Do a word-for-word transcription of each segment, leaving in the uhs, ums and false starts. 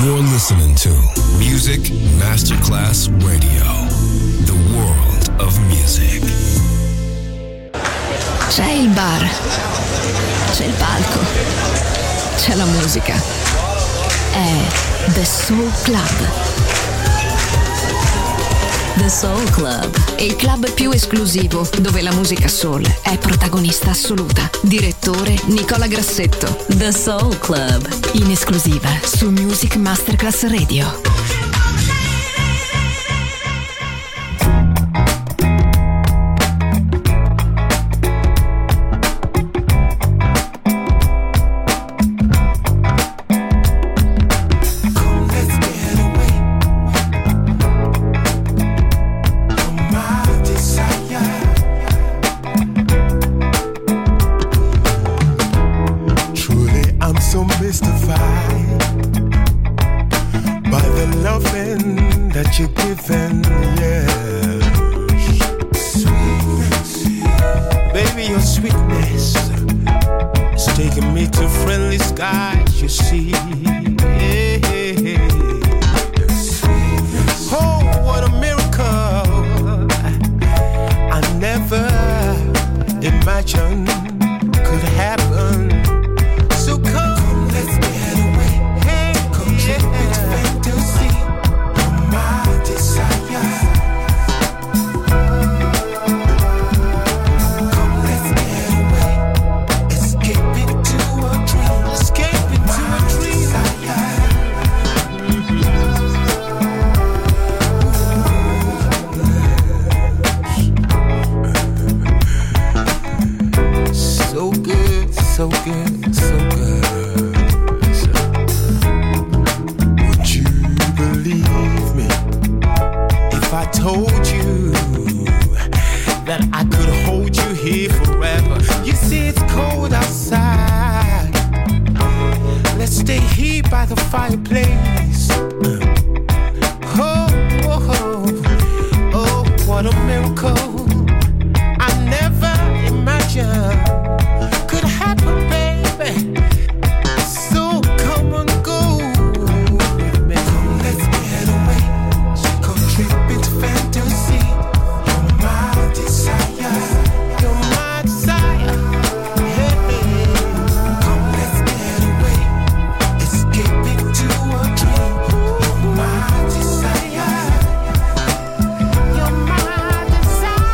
You're listening to Music Masterclass Radio, the world of music. C'è il bar, c'è il palco, c'è la musica. È The Soul Club. The Soul Club, il club più esclusivo dove la musica soul è protagonista assoluta. Direttore Nicola Grassetto. The Soul Club, in esclusiva su Music Masterclass Radio. Desire.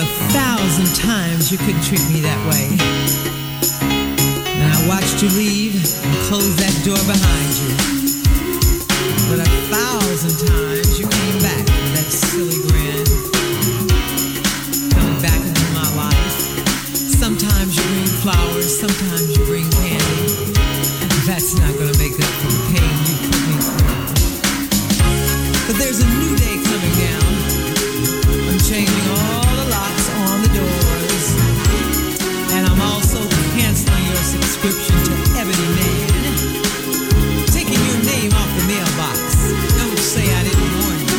a thousand times you couldn't treat me that way. And I watched you leave and close that door behind you. But a thousand times you came back with that silly grin, coming back into my life. Sometimes you bring flowers, sometimes you bring candy. That's not gonna make up for the pain you put me through. But there's a new day coming now. I'm changing all the locks on the doors. And I'm also canceling your subscription to Ebony Man. Taking your name off the mailbox. Don't say I didn't warn you.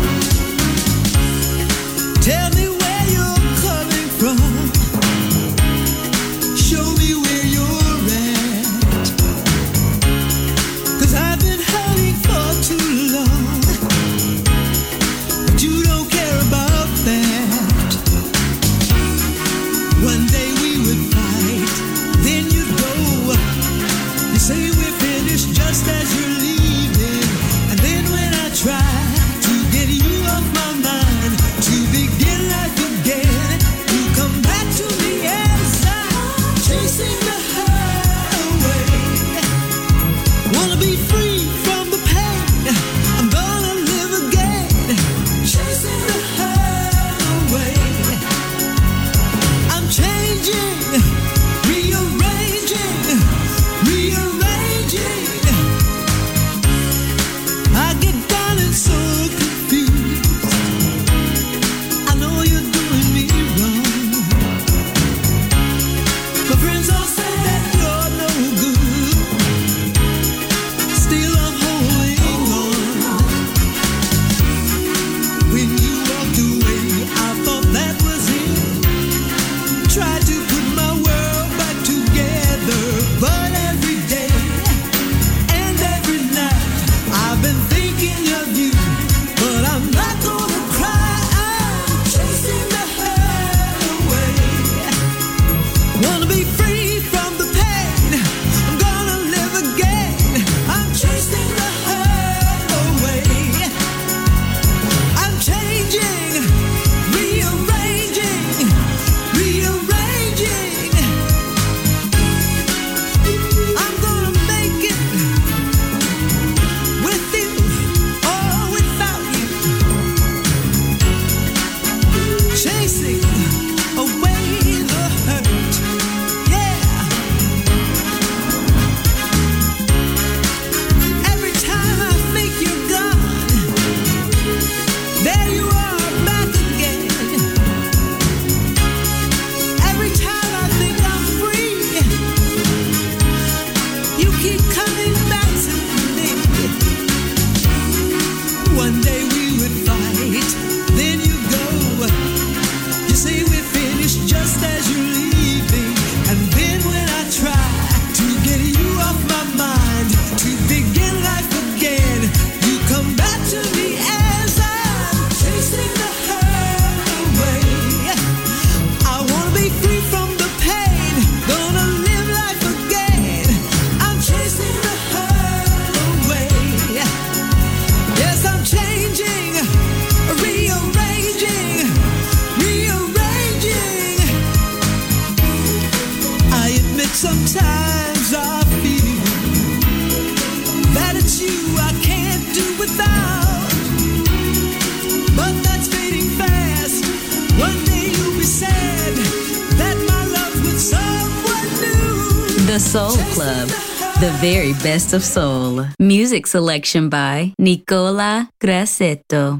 Tell me where you're coming from. Show me where you're at. 'Cause I've been hurting for too long. But you don't care about that. One day we would fight, then you'd go. You say we're finished just as you're leaving. And then when I try to get you off my mind, to begin life again, you come back to me as I'm chasing the highway. Wanna be free from the pain, I'm gonna live again, chasing the highway. I'm changing, rearranging, rearranging. I get down and so confused. I know you're doing me wrong. My friends all say that you're no good. Still I'm holding on. When you walked away, I thought that was it. Tried to put my world back together, but every day and every night I've been thinking of you. But I'm not gonna cry, I'm chasing the highway. Wanna be free from the pain, I'm gonna live again, I'm chasing the highway. I'm changing, rearranging, rearranging. I'm gonna make it with you or without you. Chasing away the hurt, yeah. Every time I think you're gone, there you are back again. Every time I think I'm free, you keep coming back to me. One day we would fight, then you go. You say we're finished just as you're leaving. And then when I try to get you off my mind, to begin life again, you come back to me as I'm chasing the highway. I wanna be free from the pain, gonna live life again, I'm chasing the highway. Yes, I'm changing, rearranging, rearranging. I admit sometimes I feel that it's you I can't do without. But that's fading fast. One day you'll be sad that my love's with someone new. The Soul Club, the very best of soul. Music selection by Nicola Grassetto.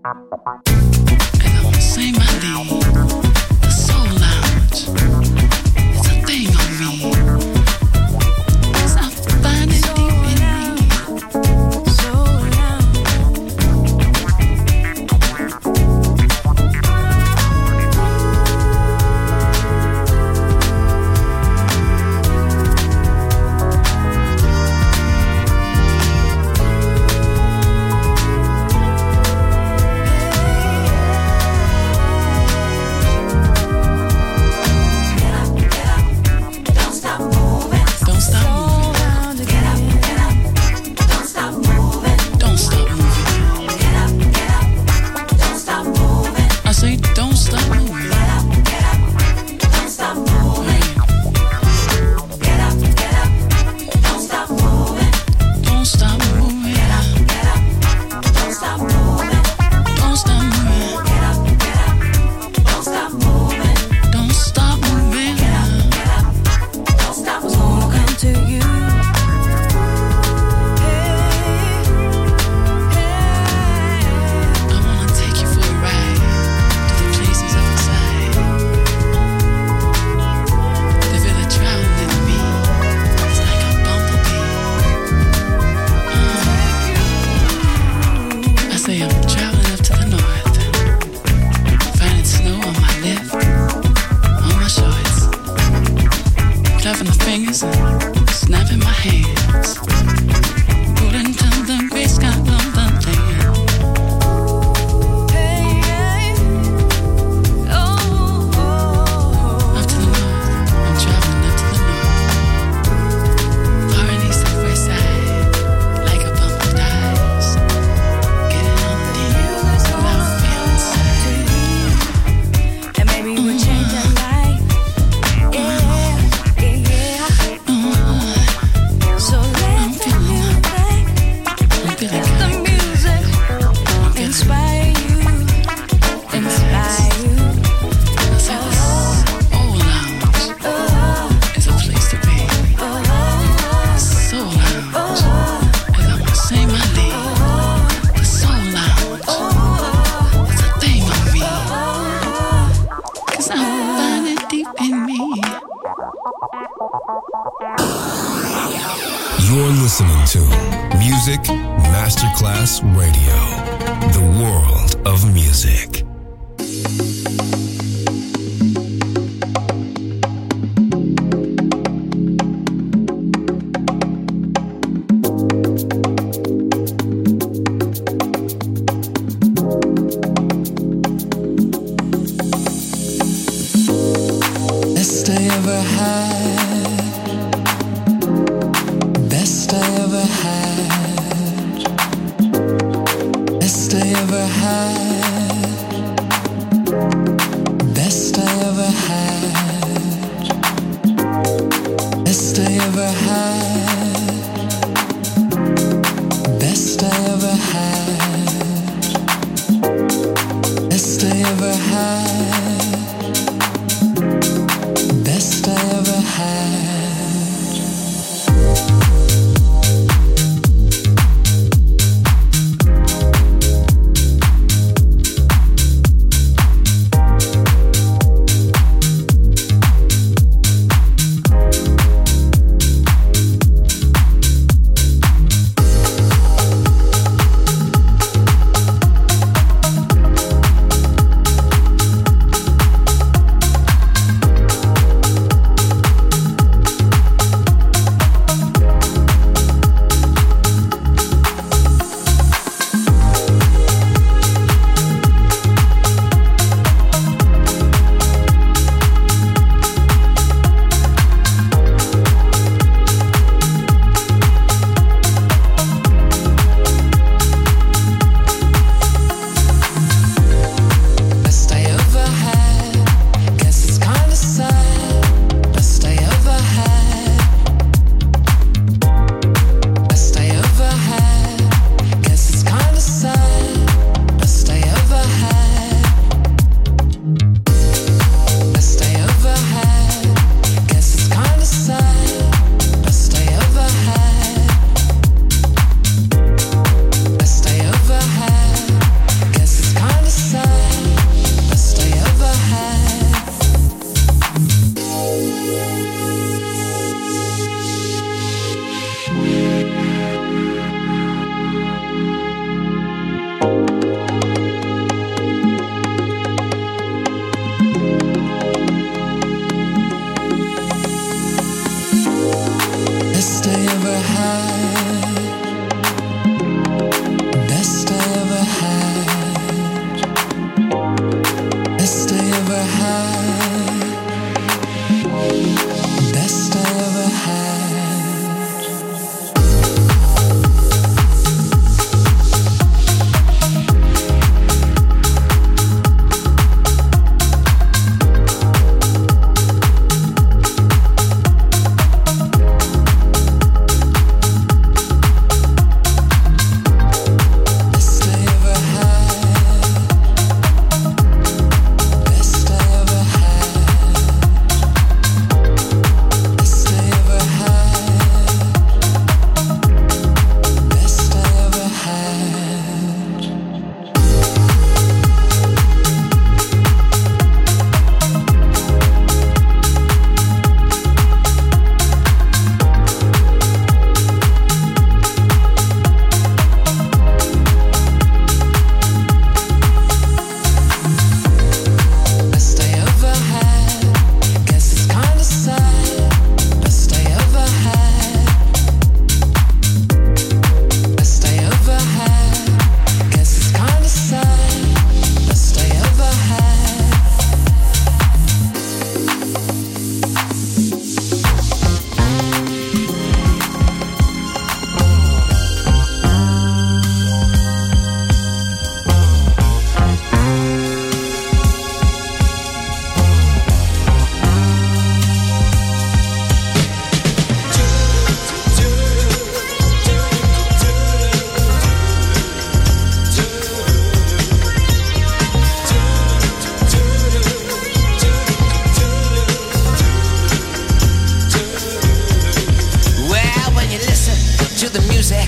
You're listening to Music Masterclass Radio, the world of music. Best I ever had, best I ever had, best I ever had,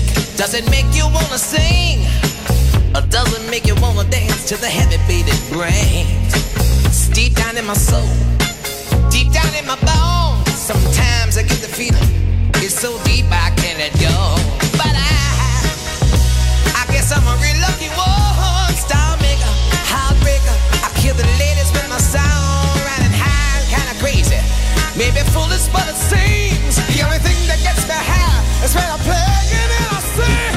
Does it make you wanna sing? Or does it make you wanna dance to the heavy beat it brings? It's deep down in my soul, deep down in my bones. Sometimes I get the feeling, it's so deep I can't let go. But I, I guess I'm a real lucky one. Star maker, heartbreaker. I kill the ladies with my sound, riding high, kinda crazy. Maybe foolish, but it seems the only thing that gets me high is when I play it and I sing.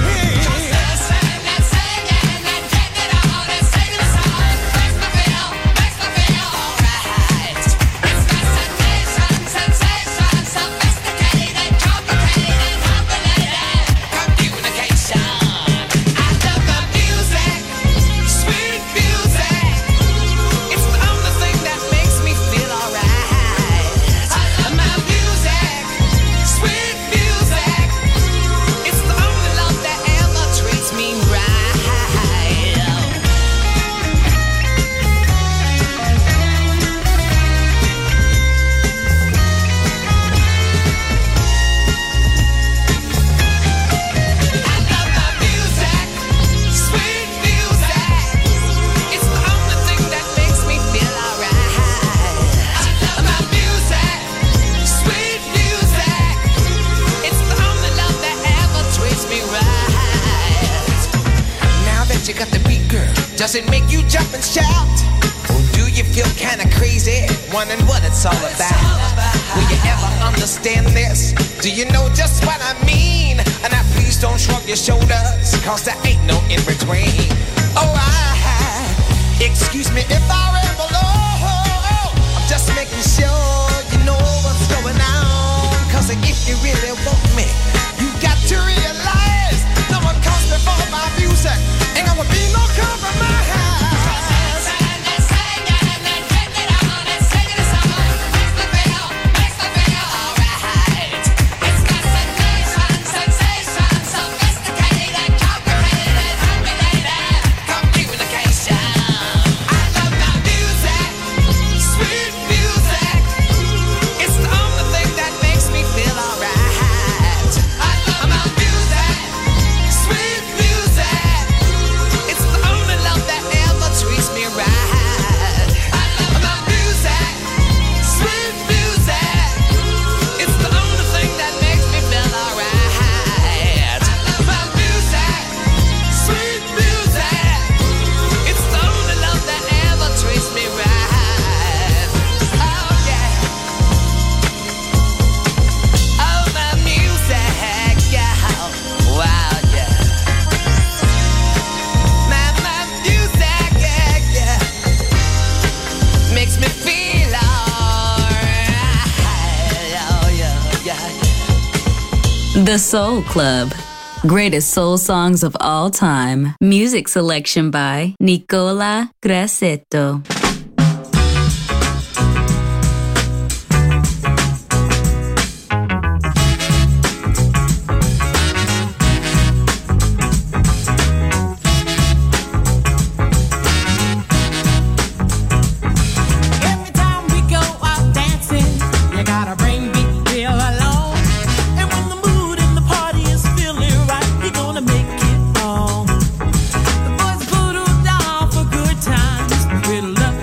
Does it make you jump and shout? Or do you feel kinda crazy, wondering what it's all about? Will you ever understand this? Do you know just what I mean? And now please don't shrug your shoulders, cause there ain't no in between. Oh, I, excuse me if I ramble, oh, I'm just making sure you know what's going on. Cause if you really want me, you got to realize no one comes before my music. Ain't gonna be no compromise. The Soul Club. Greatest soul songs of all time. Music selection by Nicola Grassetto. With love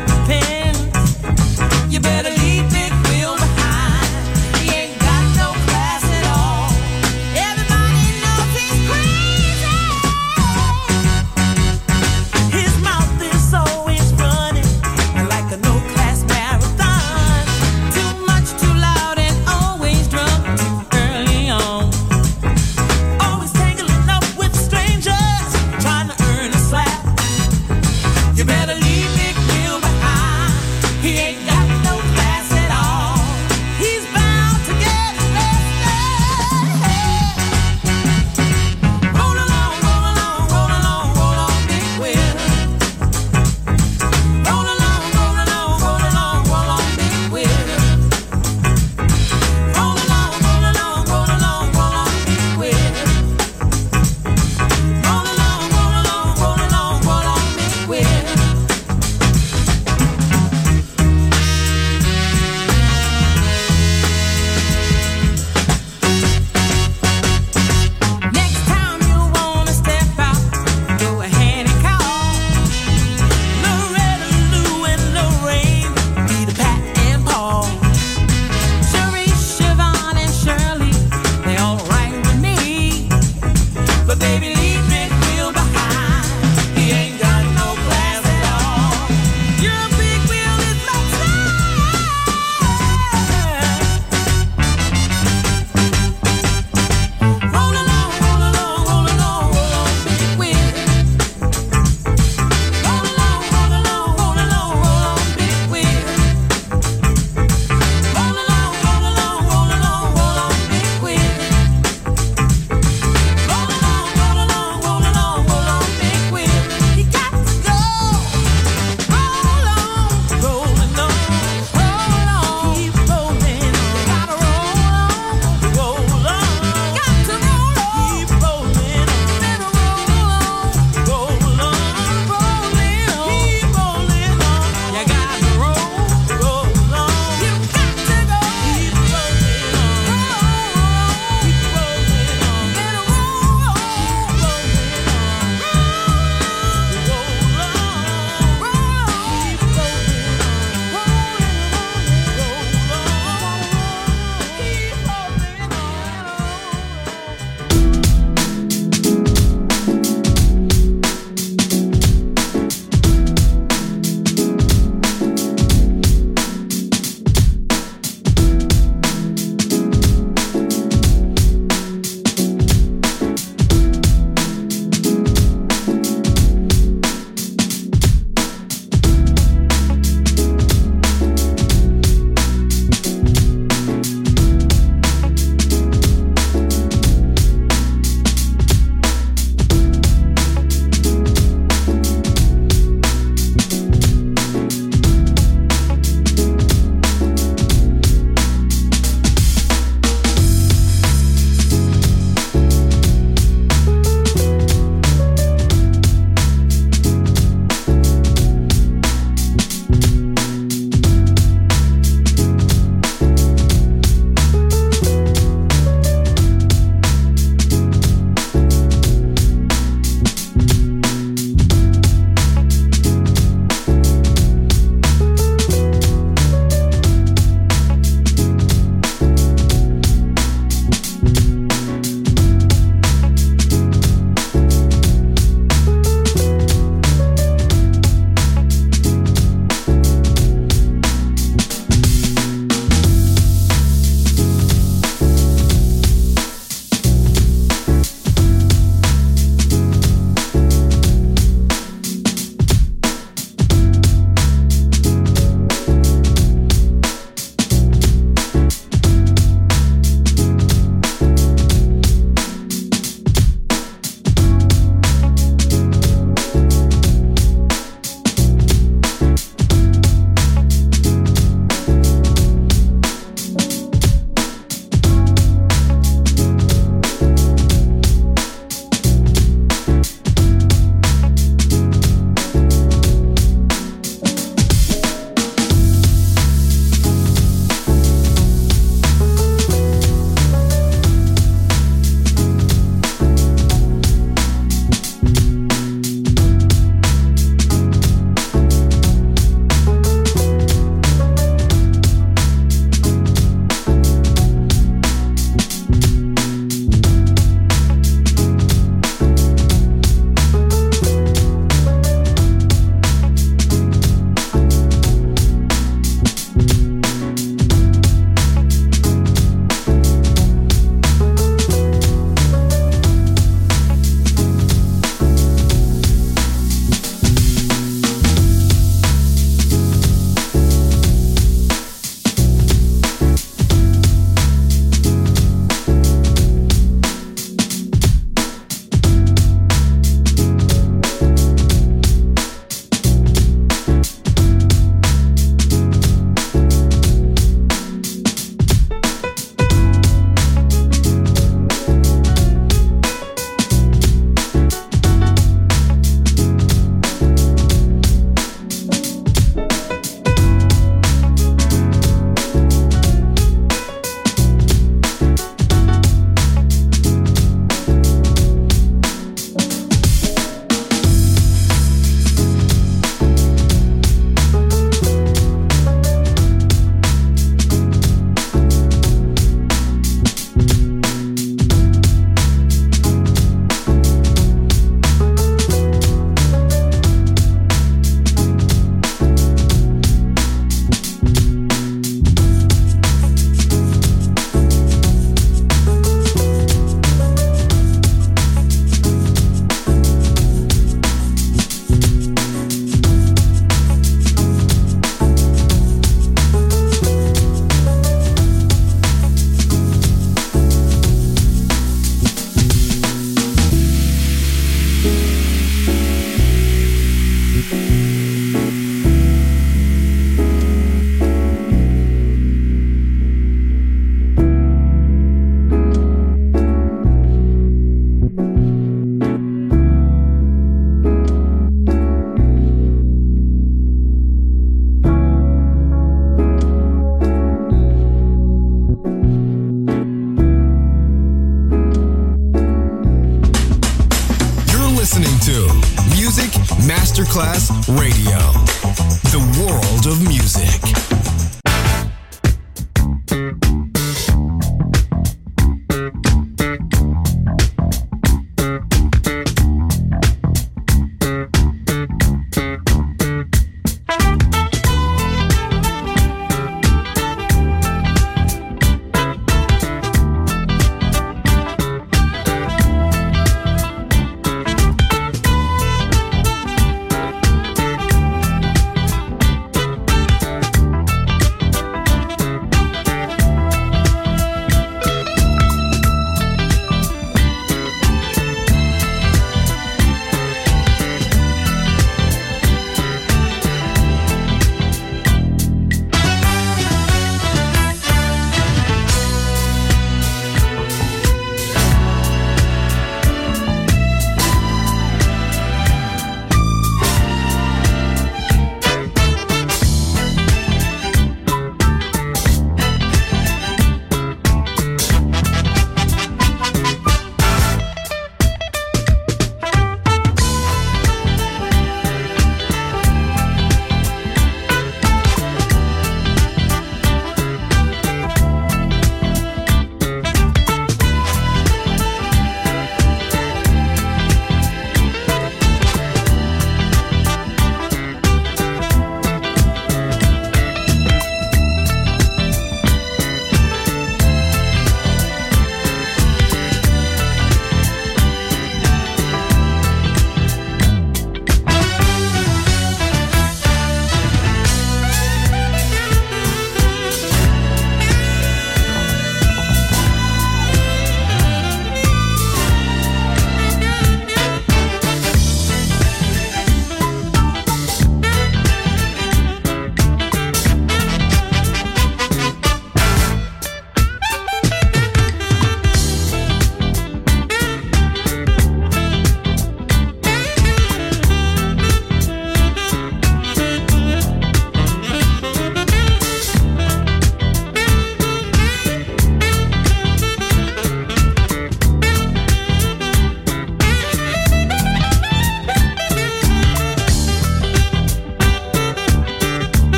listening to Music Masterclass Radio, the world of music.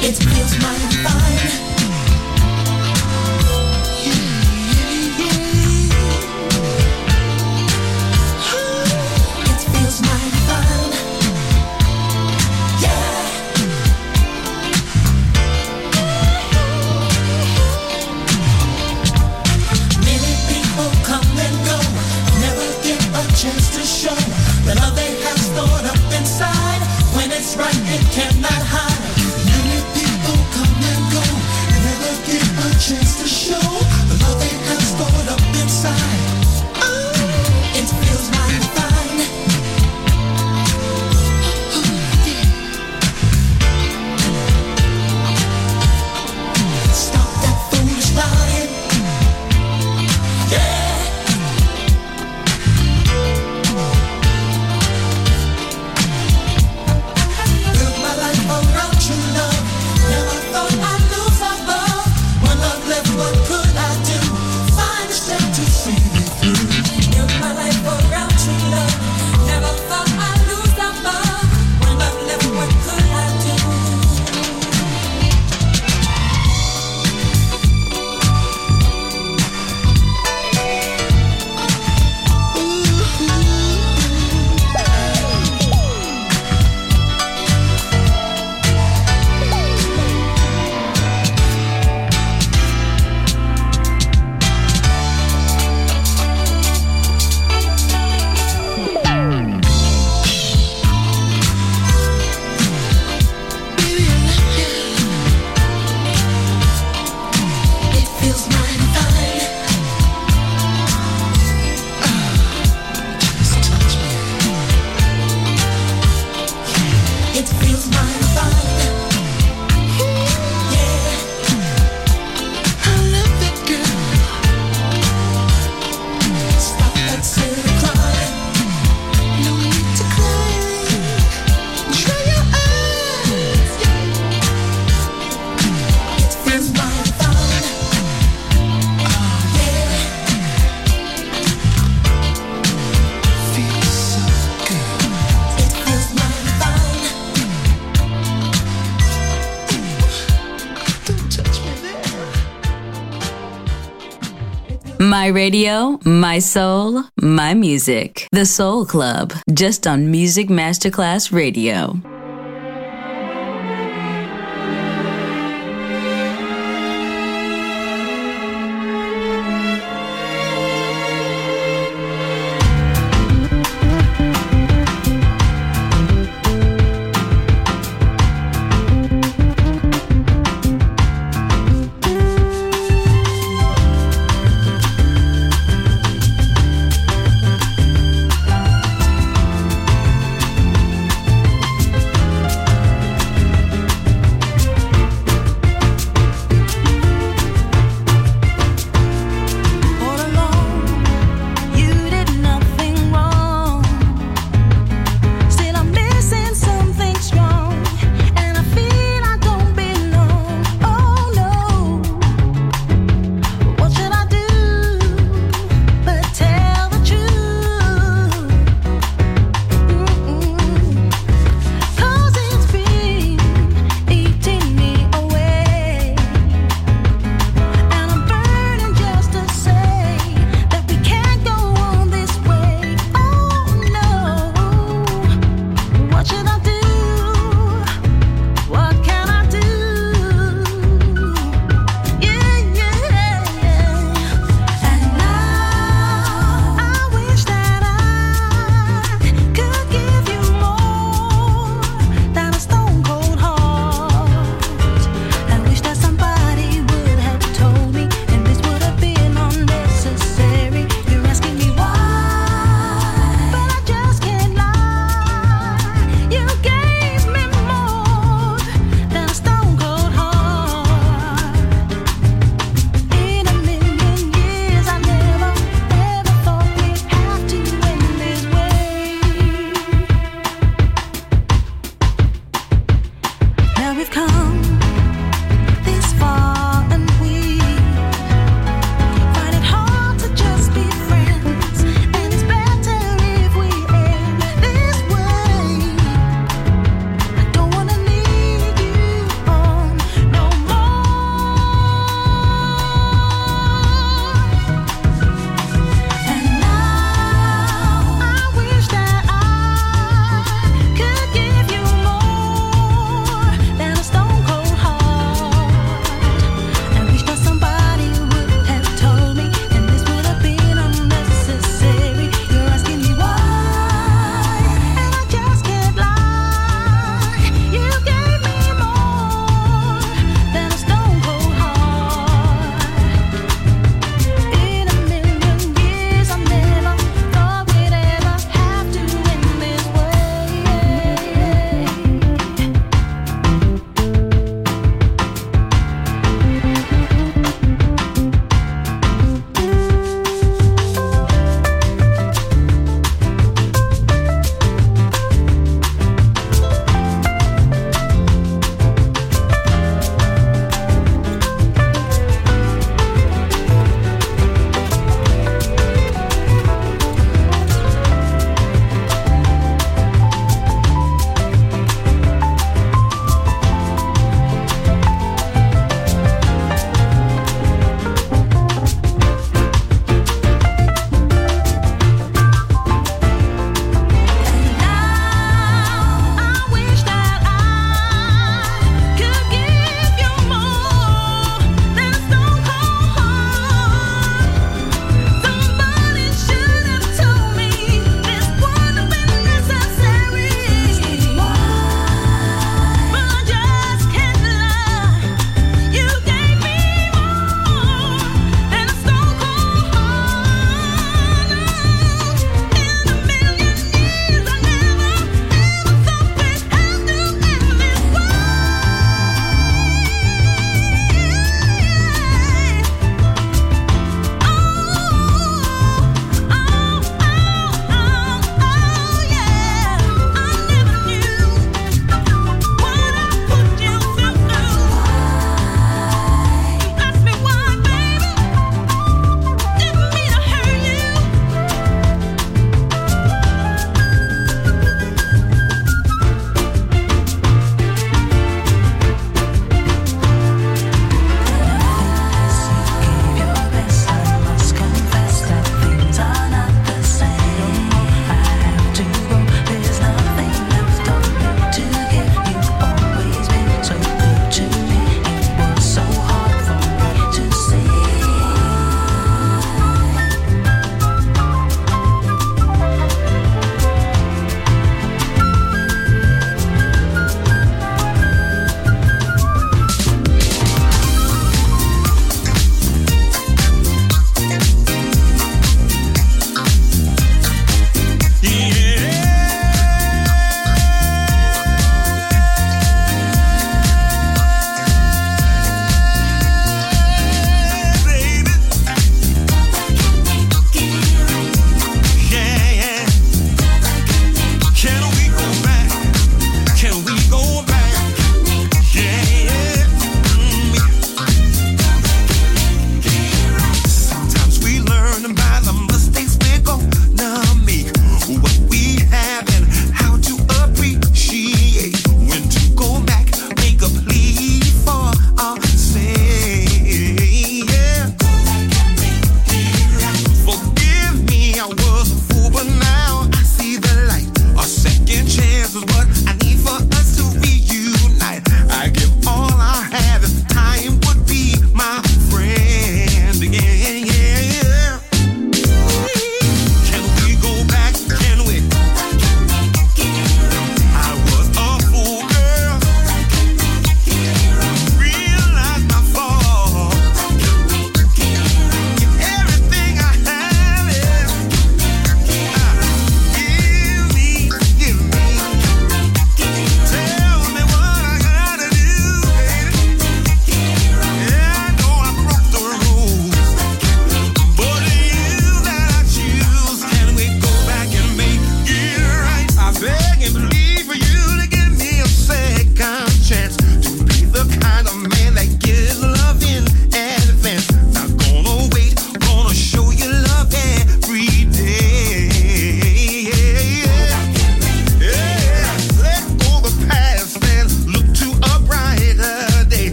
My radio, my soul, my music. The Soul Club, just on Music Masterclass Radio.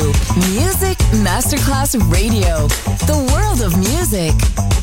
Music Masterclass Radio. The world of music.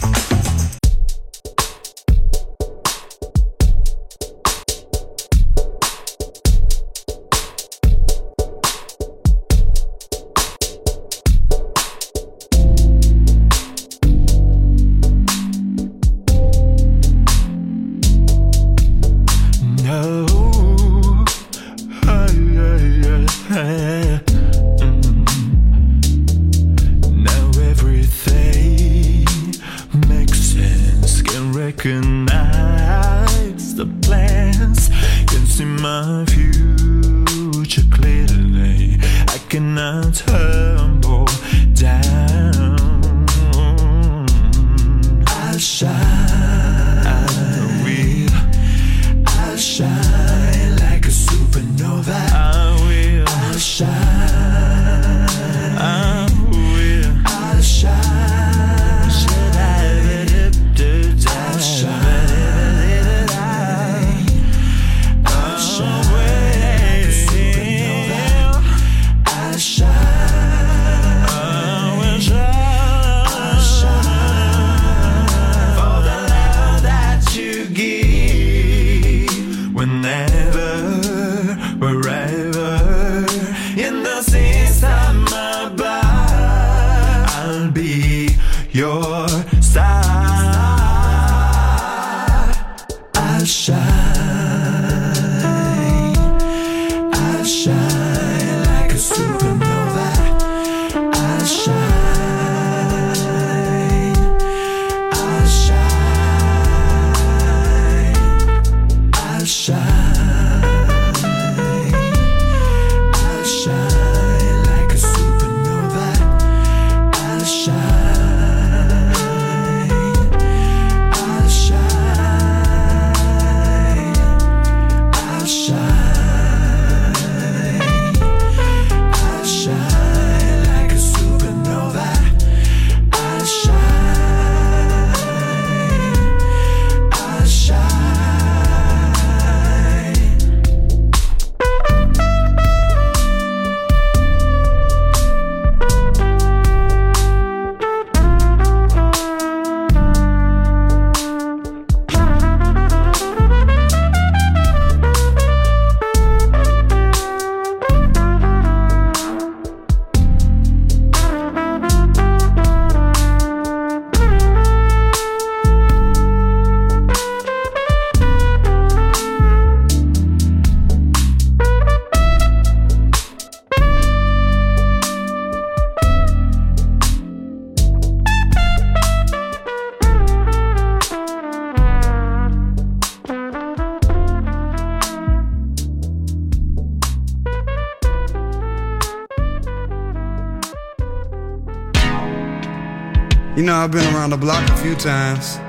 You know, I've been around the block a few times.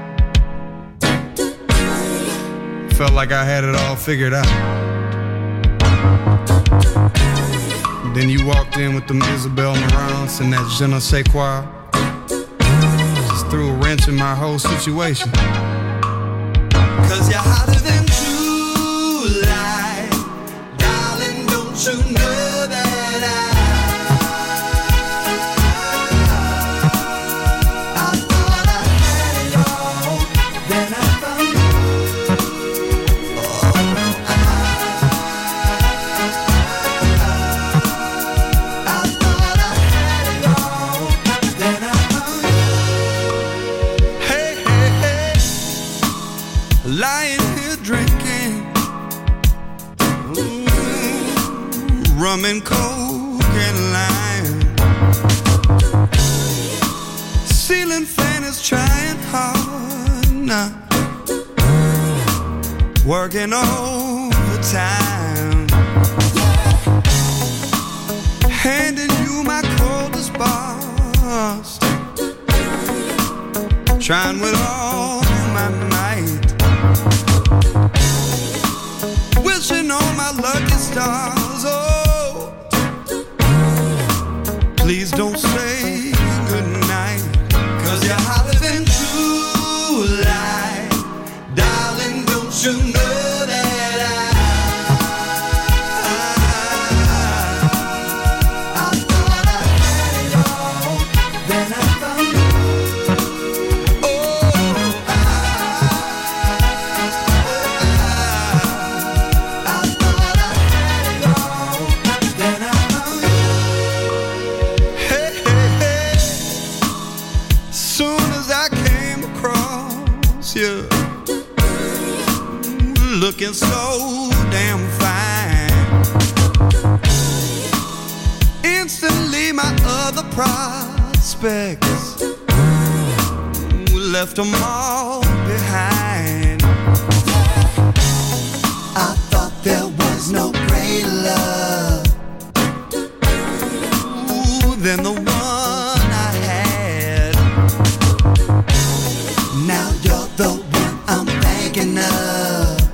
Felt like I had it all figured out. Then you walked in with them Isabel Marants and that je ne sais quoi. Just threw a wrench in my whole situation. Cause you're hotter than July. Darling, don't you know that I lying here drinking ooh, rum and coke and lime. Ceiling fan is trying hard now, working overtime, handing you my coldest bars, trying with all my might, wishing on my lucky stars. Oh, please don't say goodnight, cause you're hotter than July. Darling, don't you know that I, I, I thought I you, looking so damn fine. Instantly my other prospects left them all behind. I thought there was no greater love ooh, than the one I had. Now you're the one I'm thinking of.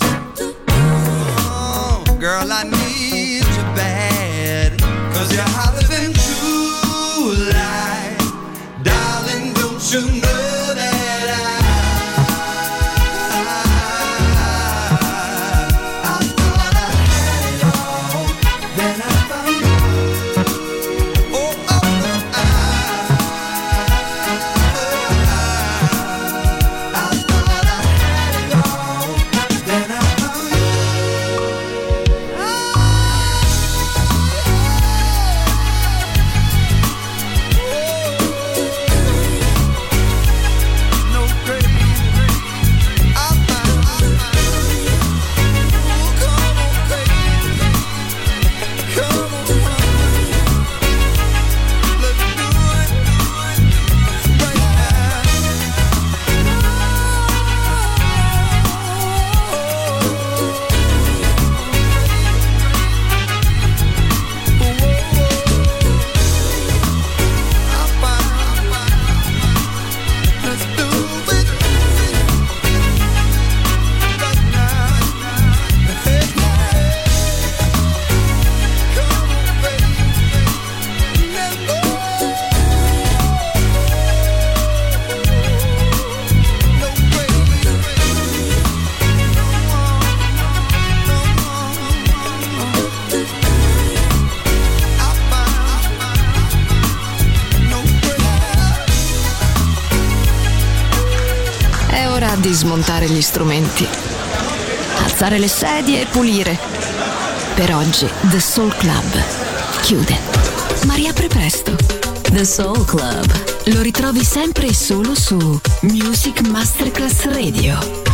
Oh, girl, I need you bad, 'cause you're hotter than true light. Darling, don't you know that I, I, I thought I had it all, then I found you. Oh, oh, oh, I, oh, I, I thought I had it all, then I found you. No great, I found, I found. Oh, come on, baby, come on, let's do it right È ora di smontare gli strumenti, alzare le sedie e pulire. Per oggi The Soul Club chiude, ma riapre presto. The Soul Club lo ritrovi sempre e solo su Music Masterclass Radio.